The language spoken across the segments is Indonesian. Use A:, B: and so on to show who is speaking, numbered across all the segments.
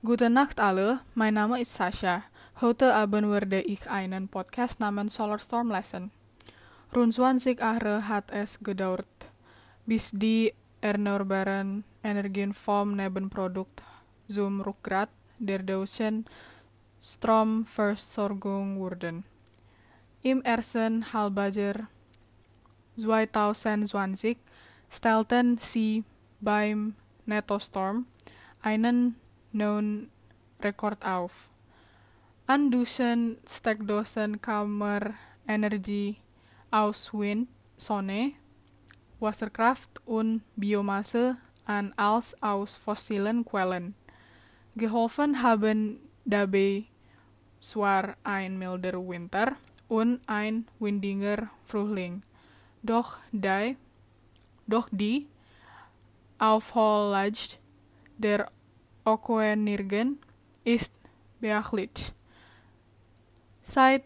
A: Gute Nacht alle, mein Name ist Sascha. Heute Abend werde ich einen Podcast namens Solar-Storm lesen. Rund 20 Jahre hat es gedauert, bis die erneuerbaren Energien vom Nebenprodukt zum Rückgrat der deutschen Stromversorgung wurden. Im ersten Halbjahr 2020 stellten sie beim Nettostorm einen neuen Rekord auf. An dussen Steckdosen Kammer Energie aus Wind, Sonne, Wasserkraft und Biomasse an als aus fossilen Quellen. Geholfen haben dabei zwar ein milder Winter und ein windiger Frühling, doch die Aufholjagd der Okoenirgen ist beachtlich. Seit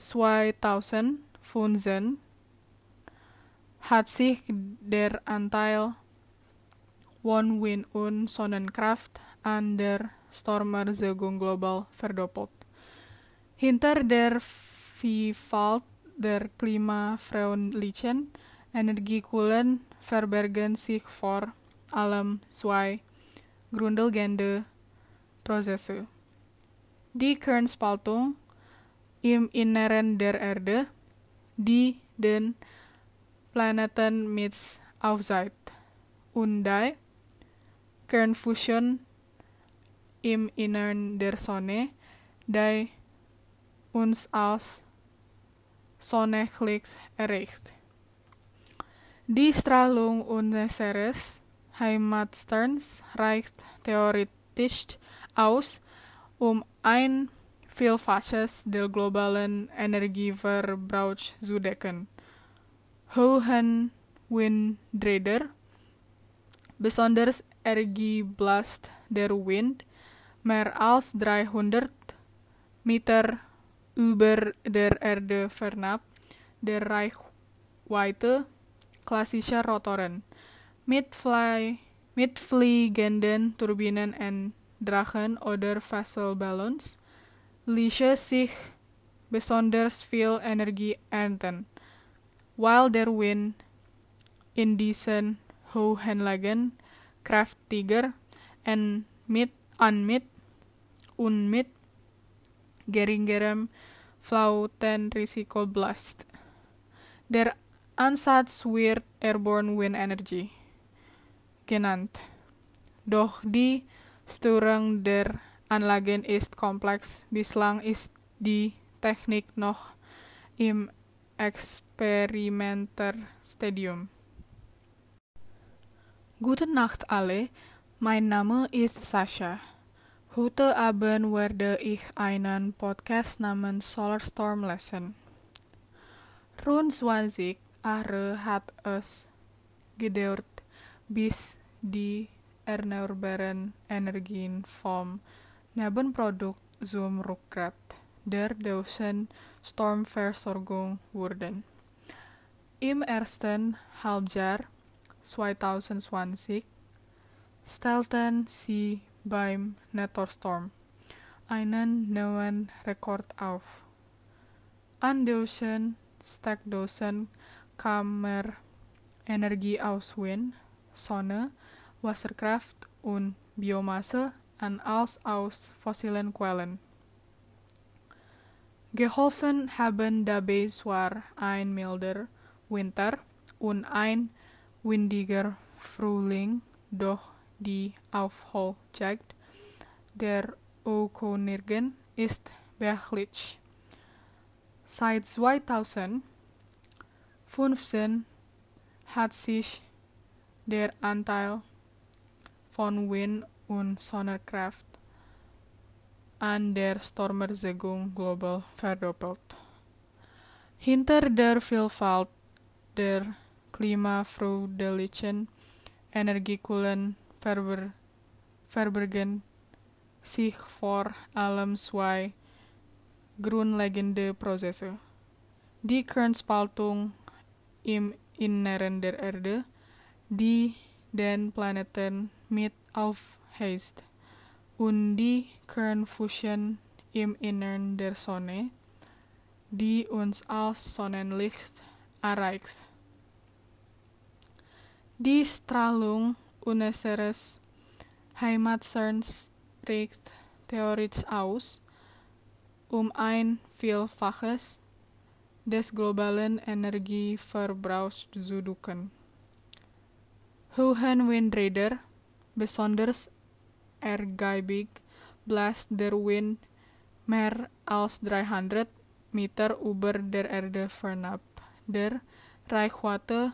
A: 2015 hat sich der Anteil von Wind- und Sonnenkraft an der Stromerzeugung global verdoppelt. Hinter der Vielfalt der klimafreundlichen Energiequellen verbergen sich vor allem zwei grundlegende Prozesse. Die Kernspaltung im Inneren der Erde, die den Planeten mit aufzieht, und die Kernfusion im Innern der Sonne, die uns als Sonnenlicht erreicht. Die Strahlung unseres Heimatsterns reicht theoretisch aus, um ein Vielfaches der globalen Energieverbrauchs zu decken. Hohen Windräder, besonders energiebelast der Wind, mehr als 300 Meter über der Erde fernab der Reichweite klassischer Rotoren. Mit fliegenden Turbinen und Drachen oder Wasserballons ließe sich besonders viel Energie ernten, weil der Wind in diesen hohen Lagen kräftiger und mit geringerem Flautenrisiko blast. Der Ansatz wird Airborne Wind Energy genannt. Doch die Steuerung der Anlagen ist komplex. Bislang ist die Technik noch im Experimenterstadium. Gute Nacht alle, mein Name ist Sascha. Heute Abend werde ich einen Podcast namens Solar-Storm lesen. Rund 20 Jahre hat es gedauert, bis die erneuerbaren Energien vom Nebenprodukt zum Rückgrat der deutschen Stromversorgung wurden. Im ersten Halbjahr 2020 stellten sie beim Nettostorm einen neuen Rekord auf. An dussen Steckdosen Kammer Energie aus Wind, Sonne, Wasserkraft und Biomasse an als aus fossilen Quellen. Geholfen haben dabei zwar ein milder Winter und ein windiger Frühling, doch die Aufholjagd der Okoenirgen ist beachtlich. Seit 2015 hat sich der Anteil von Wind- und Sonnenkraft an der Stromerzeugung global verdoppelt. Hinter der Vielfalt der klimafreundlichen Energiequellen verbergen sich vor allem zwei grundlegende Prozesse. Die Kernspaltung im Inneren der Erde, die den Planeten mit aufheizt, und die Kernfusion im Innern der Sonne, die uns als Sonnenlicht erreicht. Die Strahlung unseres Heimatsterns reicht theoretisch aus, ein Vielfaches des globalen Energieverbrauchs zu decken. Hohenwindräder, besonders ergiebig, bläst der Wind mehr als 300 Meter über der Erde fernab der Reichweite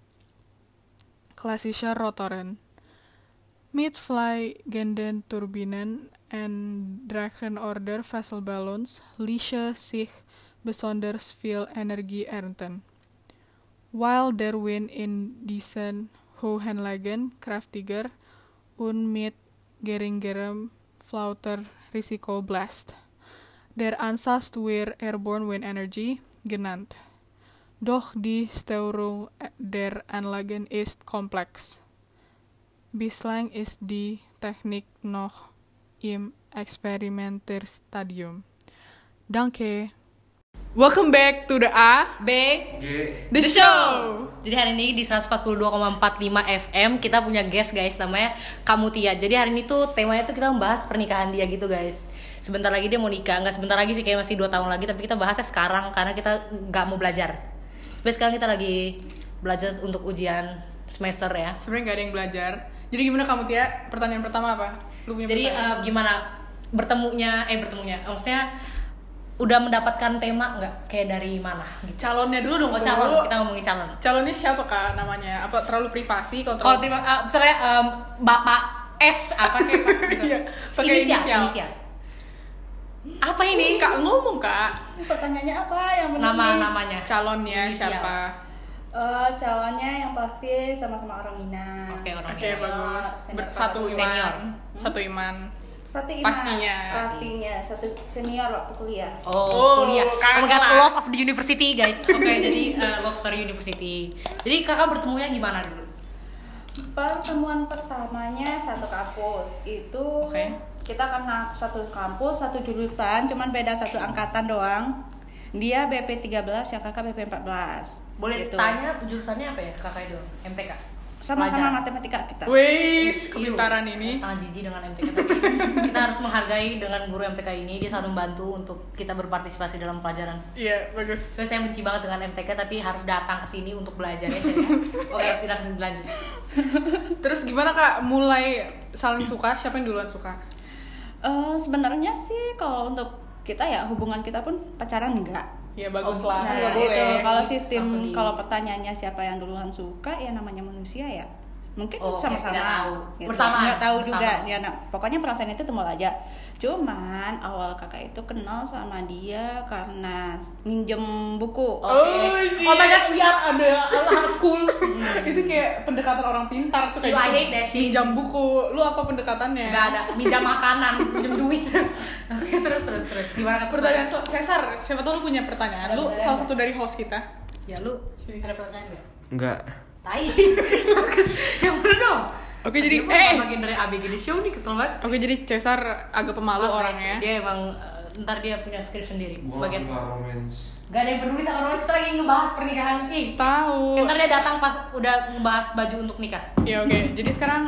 A: klassischer Rotoren. Mit fliegenden Turbinen und Drachenorder Vesselballons ließe sich besonders viel Energie ernten. Weil der Wind in diesen hohen Lagen kräftiger und mit geringerem Flauterrisiko bläst. Der Ansatz wird Airborne Wind Energy genannt. Doch die Steuerung der Anlagen ist komplex. Bislang ist die Technik noch im Experimenterstadium. Danke. Welcome back to the
B: B
A: The Show.
B: Jadi hari ini di 142,45 FM kita punya guest guys, namanya Kamutia. Jadi hari ini tuh temanya tuh kita membahas pernikahan dia gitu guys. Sebentar lagi dia mau nikah, nggak sebentar lagi sih, kayak masih 2 tahun lagi. Tapi kita bahasnya sekarang karena kita nggak mau belajar. Tapi sekarang kita lagi belajar untuk ujian semester ya.
A: Sebenarnya nggak ada yang belajar. Jadi gimana Kamutia? Pertanyaan pertama apa? Lu punya
B: Jadi
A: pertanyaan?
B: gimana bertemunya? Maksudnya udah mendapatkan tema nggak? Kayak dari mana? Gitu.
A: Calonnya dulu dong.
B: Oh calon, kita ngomongin calon.
A: Calonnya siapa Kak namanya? Apa terlalu privasi? Kalau
B: Kalau terima, misalnya Bapak S apa kayak gitu.
A: Iya, pakai inisial.
B: Apa ini?
A: Kak ngomong Kak.
C: Pertanyaannya apa yang benar?
B: Namanya.
A: Calonnya
B: Inisial.
A: siapa?
C: Calonnya yang pasti sama-sama orang Minang.
B: Oke, orang
A: Oke,
B: Minang.
A: bagus.
C: Senior.
A: Satu
B: Senior.
A: iman. Satu iman.
C: Satu iman.
A: Pastinya.
C: Satu senior waktu kuliah.
B: Oh, kuliah.
A: kakak
B: Kakak
A: kelas.
B: Love of the University guys. Oke, jadi Love Story University. Jadi kakak bertemunya gimana dulu?
C: Pertemuan pertamanya satu kampus. Itu
B: Oke.
C: kita karena satu kampus, satu jurusan, cuman beda satu angkatan doang. Dia BP13, yang kakak BP14.
B: Boleh
C: Gitu.
B: tanya jurusannya apa ya kakak itu? MTK.
C: Sama-sama
B: Pelajar.
C: matematika kita.
A: Wih,
B: Iu,
A: kepintaran ini.
B: sangat jijik dengan MTK, tapi kita harus menghargai dengan guru MTK ini. Dia selalu membantu untuk kita berpartisipasi dalam pelajaran.
A: Iya, bagus.
B: So, saya benci banget dengan MTK, tapi harus datang ke sini untuk belajar ya. Oke, tidak lanjut.
A: Terus gimana Kak mulai saling suka? Siapa yang duluan suka?
C: Sebenarnya sih kalau untuk kita ya hubungan kita pun pacaran enggak.
A: Ya bagus
B: Oh,
A: lah.
C: Nah,
A: Nggak boleh.
C: itu kalau
B: Langsung
C: sistem
B: di-
C: kalau pertanyaannya siapa yang duluan suka ya namanya manusia ya. Mungkin
B: Oh, oke,
C: sama-sama.
B: tidak tahu.
C: Gitu.
B: Bersamaan.
C: Nggak tahu
B: Bersama.
C: juga dia pokoknya perasaan itu timbul aja. Cuman awal kakak itu kenal sama dia karena minjem buku.
B: Oke.
A: Oh, iya.
B: Oh my god, biar ada alah school.
A: Itu kayak pendekatan orang pintar tuh kayak
B: Yo, I
A: gitu.
B: hate that shit.
A: Pinjam buku. Lu apa pendekatannya?
B: Enggak ada, minjam makanan, minjam duit. Oke, terus. Gimana kata
A: Pertanyaan Cesar, siapa tahu lu punya pertanyaan. Lu salah satu dari host kita.
B: Ya lu ada pertanyaan enggak?
D: Enggak.
B: Tai. Yang bener dong.
A: Oke, jadi
B: bagian dari ABG The Show nih, kesel banget.
A: Oke, jadi Cesar agak pemalu
B: Maaf, guys,
A: orangnya.
B: Dia emang ntar dia punya skrip sendiri.
D: Gua
B: Bagian
D: langsung ke romance.
B: gak ada yang peduli sama orang, kita lagi ngebahas pernikahan. Ih,
A: Tahu.
B: ntar dia datang pas udah ngebahas baju untuk nikah.
A: Ya oke. Jadi sekarang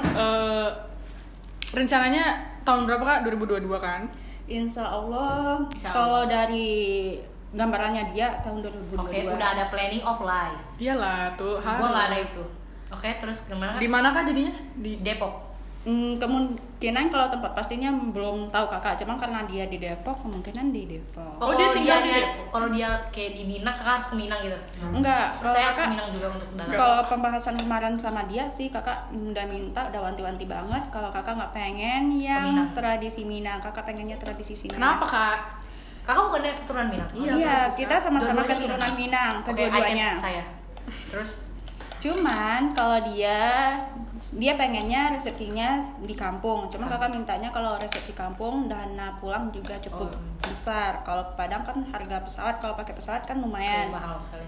A: rencananya tahun berapa Kak? 2022 kan?
C: Insya Allah
B: Insya
C: kalau
B: Allah.
C: dari gambarannya dia tahun 2022.
B: Oke, udah ada planning of life.
A: Iyalah tuh.
B: Gua gak ada itu. Oke, terus gimana?
A: Di mana Kak jadinya? Di
B: Depok.
C: Kemungkinan kalau tempat pastinya belum tahu kakak, cuman karena dia di Depok kemungkinan di Depok.
A: Oh, dia tinggal di
B: dianya-
A: Depok?
B: Kalau dia kayak di Minang, kakak harus ke Minang gitu.
C: Enggak,
B: Terus
C: kalau
B: saya harus ke
C: kakak
B: Minang juga untuk datang.
C: kalau pembahasan kemarin sama dia sih kakak udah minta, udah wanti-wanti banget kalau kakak nggak pengen yang
B: Minang.
C: tradisi Minang, kakak pengennya tradisi sini.
A: Kenapa Kak?
B: Kakak bukannya keturunan Minang?
C: Iya, kita sama-sama
B: Dua-duanya
C: keturunan Minang,
B: Oke,
C: kedua-duanya.
B: saya. Terus
C: Cuman kalau dia pengennya resepsinya di kampung. Cuman kakak mintanya kalau resepsi kampung dana pulang juga cukup besar. Kalau ke Padang kan harga pesawat, kalau pakai pesawat kan lumayan.
B: mahal sekali.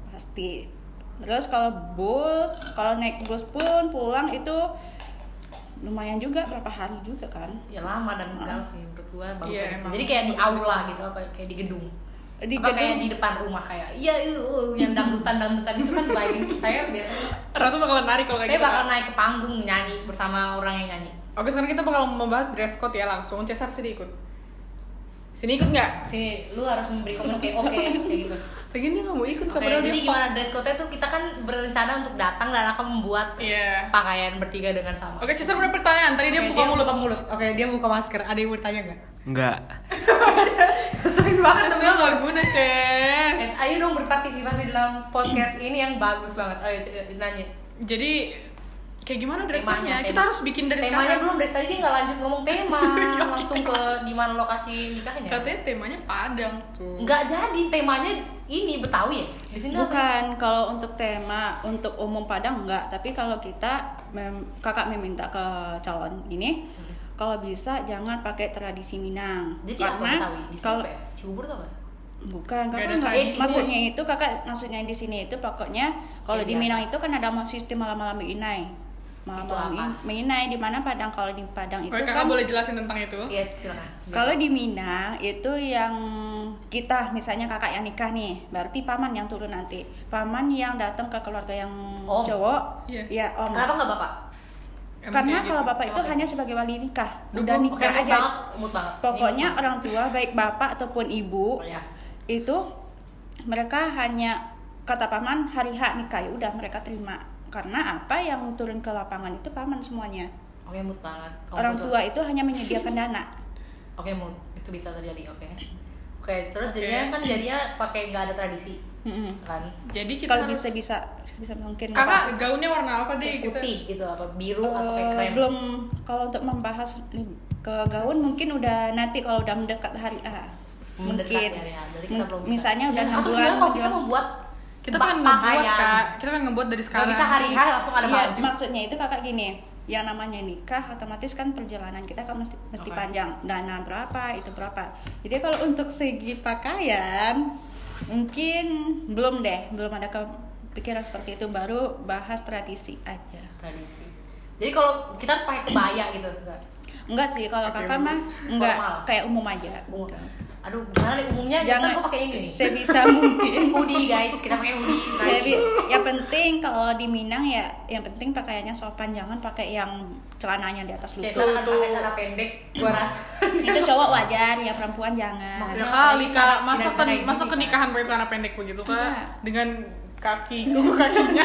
C: Pasti. Terus kalau naik bus pun pulang itu lumayan juga, berapa hari juga kan.
B: Ya lama dan enggak sih menurut gua bagus
A: Iya,
B: aja sih.
A: emang
B: Jadi kayak di
A: bagus
B: aula
A: sih.
B: gitu apa kayak di gedung.
C: Di
B: Apa kayak
C: gedung.
B: di depan rumah kayak yang dangdutan itu kan bayangin saya biasanya
A: Ratu bakalan narik kalau kayak
B: saya
A: gitu.
B: bakal
A: Kak.
B: naik ke panggung nyanyi bersama orang yang nyanyi.
A: Oke, sekarang kita bakal membahas dress code ya langsung. Cesar sini ikut. Sini ikut nggak?
B: Sini lu harus memberi komen kayak oke kayak gitu.
A: Lagi dia nggak mau ikut,
B: Oke,
A: padahal
B: jadi
A: dia
B: gimana
A: host.
B: dress code-nya tuh kita kan berencana untuk datang dan akan membuat
A: Iya.
B: pakaian bertiga dengan sama.
A: Oke, Cesar punya pertanyaan. Tadi dia
B: Oke,
A: buka mulut.
B: Oke, dia buka masker. Ada yang mau tanya nggak?
D: Enggak.
B: Sering banget.
A: Cesar nggak guna, Ces.
B: Ayo dong berpartisipasi dalam podcast ini yang bagus banget. Ayo nanya.
A: Jadi kayak gimana dress
B: Temanya,
A: code-nya? Kita harus bikin dari
B: temanya
A: sekarang.
B: belum dari tadi dia nggak lanjut ngomong tema, langsung ke di mana lokasi nikahnya.
A: Katanya temanya Padang tuh.
B: Nggak jadi temanya ini Betawi ya. Di sini apa?
C: Bukan, kalau untuk tema untuk umum Padang enggak, tapi kalau kita kakak meminta ke calon ini kalau bisa jangan pakai tradisi Minang.
B: Jadi apa
C: karena
B: Betawi? Di sini
C: kalau
B: apa ya? Cibubur tuh apa?
C: bukan
A: Nggak
C: kakak
A: ada
C: enggak,
A: tradisi.
C: maksudnya itu kakak maksudnya di sini itu pokoknya kalau
B: Kayak
C: di
B: biasa.
C: Minang itu kan ada sistem malam-malam Inai. Malam-malam
B: Itu apa?
C: Inai di mana Padang, kalau di Padang itu
A: Oke,
C: kan
A: kakak boleh jelasin tentang itu?
B: Iya, silakan.
C: kalau di Minang itu yang kita misalnya kakak yang nikah nih, berarti paman yang turun nanti. Paman yang datang ke keluarga yang
B: Om.
C: cowok,
A: Iya.
C: ya om.
B: Kenapa nggak bapak?
A: Emang
C: Karena
A: kayak
C: kalau
A: gitu.
C: bapak itu
B: Oke.
C: hanya sebagai wali nikah,
A: Duh,
C: udah
A: Bang.
B: Oke,
C: nikah
B: mood
C: aja.
B: banget, mood banget.
C: Pokoknya
B: Ini mood
C: orang tua baik bapak ataupun ibu
B: banget. Oh, ya.
C: itu mereka hanya kata paman hari H nikah, ya udah mereka terima. Karena apa yang turun ke lapangan itu paman semuanya.
B: Oke, mood banget. Oh,
C: Orang
B: mood
C: tua itu hanya menyediakan dana.
B: Oke, mood. Itu bisa terjadi, oke. Oke, terus
A: Oke.
B: jadinya kan jadinya pakai nggak ada tradisi
C: Mm-mm.
B: kan?
A: Jadi kita
C: Kalau
A: harus
C: bisa mungkin
A: Kakak gaunnya warna apa deh?
B: Kayak
A: Kita
B: putih gitu, apa biru atau kayak krem?
C: belum. Kalau untuk membahas ke gaun mungkin udah nanti kalau udah mendekat hari A.
B: Mendekat
C: Mungkin
B: ya. Jadi kita belum bisa.
C: misalnya udah 6
B: Atau
C: bulan
B: sebenarnya kalau kita
C: menjelang-
B: membuat
A: kita pengen ngebuat, Kak. Kita pengen ngebuat dari
B: Nggak
A: sekarang.
B: bisa hari H langsung ada
C: Iya,
B: baju.
C: maksudnya itu kakak gini, yang namanya nikah otomatis kan perjalanan kita kan mesti
B: Oke.
C: panjang, dana berapa itu berapa. Jadi kalau untuk segi pakaian mungkin belum ada kepikiran seperti itu, baru bahas tradisi aja.
B: Tradisi. Jadi kalau kita harus pakai kebaya gitu, enggak?
C: Enggak sih, kalau
A: Oke,
C: kakak mah
A: bagus.
C: enggak,
B: Formal.
C: kayak umum aja.
B: Umum.
C: Udah.
B: Aduh, gimana deh umumnya? Jangan gue pakai ini nih.
C: sebisa mungkin.
B: Hoodie guys, kita pakai hoodie.
C: Yang penting kalau di Minang ya, yang penting pakaiannya sopan, jangan pakai yang celananya di atas
B: Cesar
C: lutut.
B: kan pakai celana pendek, gua rasa.
C: Itu cowok wajar, ya perempuan jangan.
B: Maksudnya
A: Ya kali Kak,
B: Tidak
A: masa
B: bisa kayak
A: masa
B: gini,
A: kenikahan pakai celana pendek begitu Kak?
C: Iya.
A: Dengan kakinya.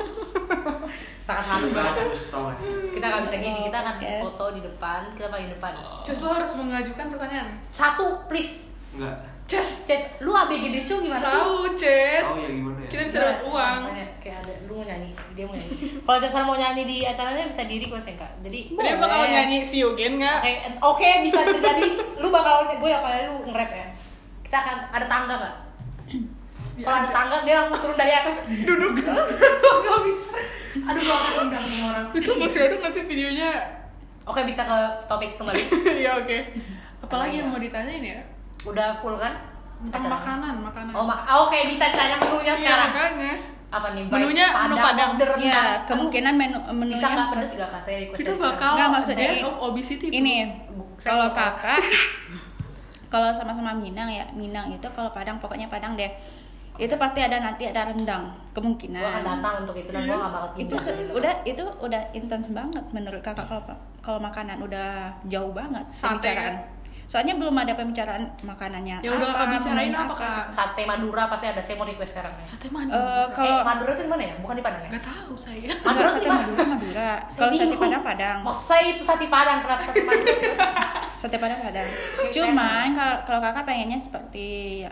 B: Sangat halu banget.
D: Tau gak sih?
B: Kita nggak bisa gini, kita akan
C: Podcast.
B: foto di depan, kita paling depan.
A: Ces, lo harus mengajukan pertanyaan.
B: Satu, please.
D: Enggak.
A: Ces,
B: Ces, lu ABG The Show gimana sih?
A: tahu Ces.
D: Tahu ya gimana ya?
A: Kita bisa dapat uang.
B: Kayak ada, lu mau nyanyi, dia mau nyanyi. Kalau Cesar mau nyanyi di acaranya bisa diri kok Sengka. Jadi
A: Dia bakal nyanyi si Yogen nggak?
B: Oke, bisa terjadi. Lu bakal gue apalagi lu nge-rap ya. Kita akan ada tangga nggak? Kalau ada tangga dia langsung turun dari atas. Duduk. Gak bisa. Aduh, gua akan undang semua orang.
A: Itu masih ada nggak sih videonya?
B: Oke, bisa ke topik kembali.
A: Iya oke. Apalagi yang mau ditanyain ya?
B: Udah full kan?
A: Tentang
B: Acaranya?
A: makanan.
B: Oh, oke, bisa tanya menunya
A: Iya
B: sekarang.
A: makanya.
B: Apa nih?
A: Menunya menu Padang.
B: order rendang.
C: Ya, kemungkinan
B: Aduh,
C: menunya
B: bisa nggak pedes gak kak? Saya request
A: Kita
B: dari sekarang.
A: bakal
C: Nggak, maksudnya
A: death of obesity tuh.
C: ini.
B: Saya
C: Kalau
B: mau tahu.
C: kakak, kalau sama-sama Minang ya, Minang itu kalau Padang pokoknya Padang deh. Itu pasti ada nanti ada rendang kemungkinan.
B: Gua akan datang untuk itu dan gua nggak bakal
C: itu udah intens banget menurut kakak. Kalau makanan udah jauh banget
A: Sate,
C: pembicaraan. Soalnya belum ada pembicaraan makanannya.
A: Ya udah kakak bicarain
C: menunya
A: apa Kak?
B: Sate Madura pasti ada. Saya mau request sekarang ya.
A: Sate mana?
C: Kalau
B: Madura itu di mana ya? Bukan di Padang ya?
A: Gak tahu saya.
B: Madura
C: enggak,
B: tuh
C: sate
B: di mana?
C: Madura.
B: Saya
C: Kalau sate
B: bingung.
C: Padang Padang.
B: Maksud saya itu sate Padang, kenapa sate Padang?
C: Sate Padang Padang.
B: Oke,
C: Cuman kalau kakak pengennya seperti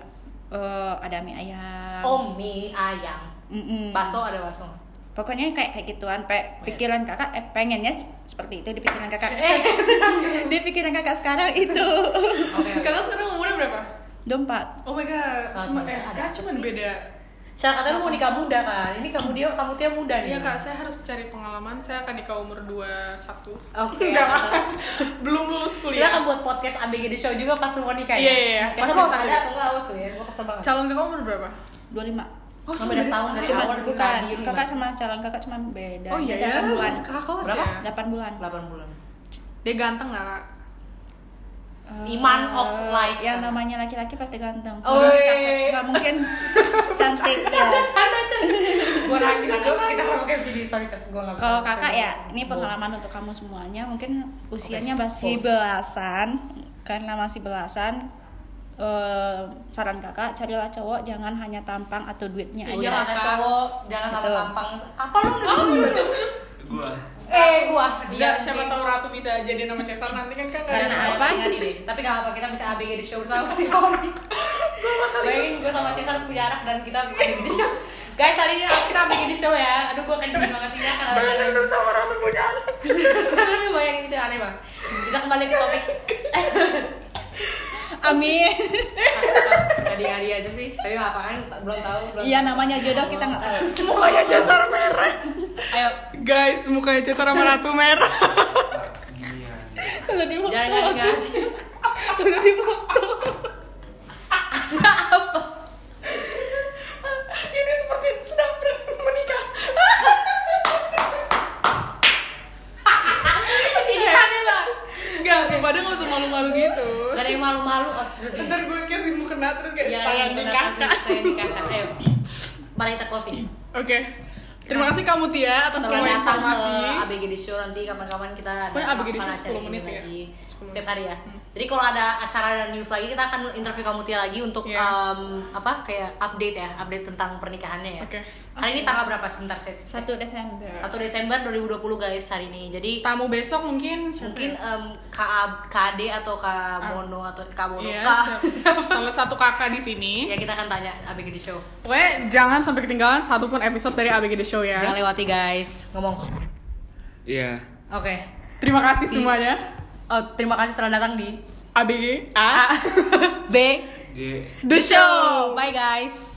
C: ada mie ayam.
B: Mie ayam.
C: Mm-mm.
B: Bakso ada bakso.
C: Pokoknya kayak gituan. Pikiran kakak pengennya seperti itu di pikiran kakak.
B: Eh.
C: Di pikiran kakak sekarang itu.
B: Oke.
A: Kakak sekarang umurnya berapa?
C: 24.
A: Oh my god,
B: Sangat
A: cuma
B: muda. Ada
A: Kak
B: apa
A: cuma
B: sih?
A: beda.
B: Saya katanya lu mau nikah muda kan? Ini kamu dia muda nih.
A: Iya Kak, saya harus cari pengalaman. Saya akan nikah umur 21.
B: Oke.
A: Enggak. Belum lulus
B: Kita
A: kuliah.
B: akan buat podcast ABG The Show juga pas lu mau nikah ya?
A: Iya, iya, iya.
B: Saya
A: Pasti
B: mau
A: saya.
B: ada atau enggak awas tuh ya, gue kesel banget.
A: Calon kakak umur berapa?
C: 25.
A: Oh,
B: Cuma beda setahun dari
C: Cuma
B: awal
C: bukan,
B: Nadir,
C: kakak
B: Mas.
C: sama calon kakak cuma beda.
A: Oh iya
C: beda
A: ya,
C: 8 bulan.
A: kakak kelas
B: Berapa?
A: ya.
C: 8 bulan.
B: 8 bulan.
A: Dia ganteng nggak kak?
B: Iman of life.
C: Yang namanya laki-laki pasti ganteng.
B: Oh,
C: Nggak
B: iya.
C: cakep, nggak mungkin cantik ya.
B: Gue nangis, kita mau kayak video, sorry gue nggak bisa.
C: Kalau kakak ya, ini pengalaman untuk kamu semuanya. Mungkin usianya masih belasan, karena masih belasan. Saran kakak, carilah cowok jangan hanya tampang atau duitnya
A: Iya,
C: aja.
B: Jangan
A: Kak.
B: cowok, jangan sama
C: Betul.
B: tampang. Apa lu?
D: Gua.
B: Gua.
A: Enggak, siapa tahu Ratu bisa jadi nama Cesar nanti kan kak.
C: Karena
A: nggak ada-
C: apa?
B: Tapi gak apa, kita bisa ABG di show bersama si Rory. Bayangin gue sama Cesar punya anak dan kita ABG di show. Guys, hari ini kita ABG di show ya. Aduh, gue kenceng banget ini akan ada.
A: Bayangin lu sama Ratu punya anak.
B: Bayangin itu aneh banget. Kita kembali ke topik.
C: Amin.
B: Tadi aja sih. Tapi gak apa kan, belum tahu.
C: Iya, namanya jodoh kita nggak tahu.
A: Mukanya Cesar merah.
B: Ayo,
A: Guys, mukanya Cesar sama Ratu merah.
D: Ginian.
C: Kalau di
B: jangan ngasih.
C: kalau di foto.
B: Ada apa?
A: Ini seperti sedang menikah.
B: Ini aneh lah.
A: Enggak, lu pada nggak usah malu-malu gitu.
B: Gak ada yang malu-malu, astagfirullah.
A: Ntar gue kasih mukena terus kayak
B: Iya,
A: saya di kakak.
B: Saya di kakak. Ayo. Mari kita closing.
A: Oke. Terima kasih kamu Tia atas semua
B: Selamat datang
A: informasi.
B: ke ABG di show, nanti kapan-kapan kita ada
A: Pokoknya ABG di show
B: acara
A: 10
B: ini
A: menit ya?
B: lagi
A: 10
B: setiap hari ya. Jadi kalau ada acara dan news lagi kita akan interview kamu Tia lagi untuk
A: Iya.
B: apa kayak update tentang pernikahannya ya.
A: Oke.
B: Hari ini tanggal berapa? Sebentar saya.
C: 1 Desember.
B: 1 Desember 2020 guys hari ini. Jadi
A: Tamu besok mungkin siapa
B: mungkin
A: ya?
B: KD atau Mono atau Mono
A: Iya,
B: K.
A: salah satu kakak di sini.
B: Ya kita akan tanya ABG di show.
A: Pokoknya jangan sampai ketinggalan satupun episode dari ABG The Show ya.
B: Jangan lewati guys. Ngomong.
D: Iya.
B: Oke.
A: Terima kasih semuanya.
B: Oh, terima kasih telah datang di
A: ABG A
B: B
D: G.
B: The Show. Bye guys.